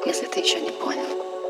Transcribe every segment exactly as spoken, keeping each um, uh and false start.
если ты еще не понял.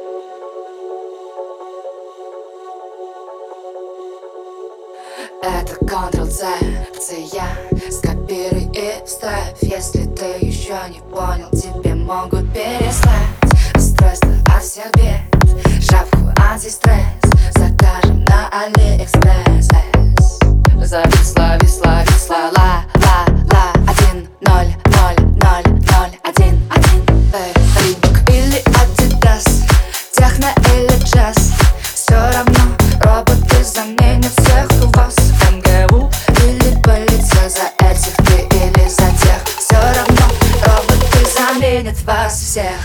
Это контрол-C, C-я, скопируй и вставь. Если ты еще не понял, тебе могут переслать устройство от всех бед, шапку антистресс закажем на Алиэкспресс. Зависла, висла, висла, ла, ла, ла. Один, ноль, ноль, ноль, ноль, один, один. Эй, Рибок или Адидас, техно или джаз, все равно роботы заменят всех у вас. эм гэ у или полиция, за этих ты или за тех, все равно роботы заменят вас всех.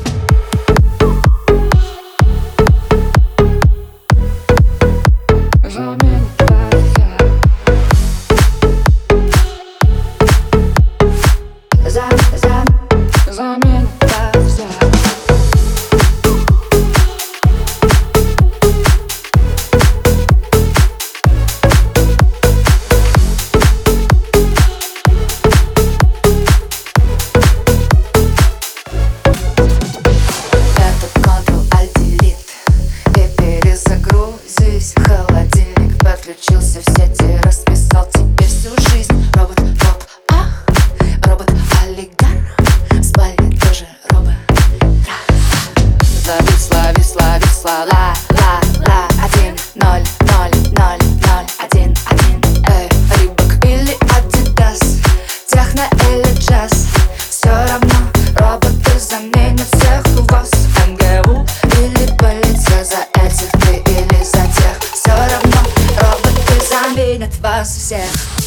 Подключился в сети, расписал тебе всю жизнь. Робот, топ, ах, робот-олигарх, в спальне тоже робот. Зависла, висла, висла, ла, ла, ла. Один, ноль, ноль, ноль, ноль, один, один. Эй, Рибок или Адидас, техно или джаз, все равно роботы заменят всех у вас. эм гэ у или полиция, за этих ты или за тех, все равно роботы заменят вас всех.